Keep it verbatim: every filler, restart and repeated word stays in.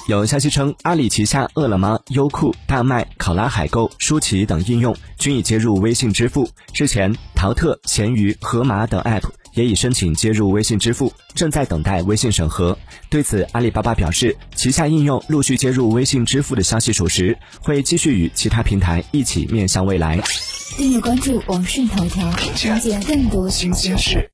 有消息称，阿里旗下饿了么、优酷、大麦、考拉海购、舒淇等应用均已接入微信支付。之前，淘特、闲鱼、盒马等 App 也已申请接入微信支付，正在等待微信审核。对此，阿里巴巴表示，旗下应用陆续接入微信支付的消息属实，会继续与其他平台一起面向未来。 订阅关注网讯头条，了解更多新鲜事。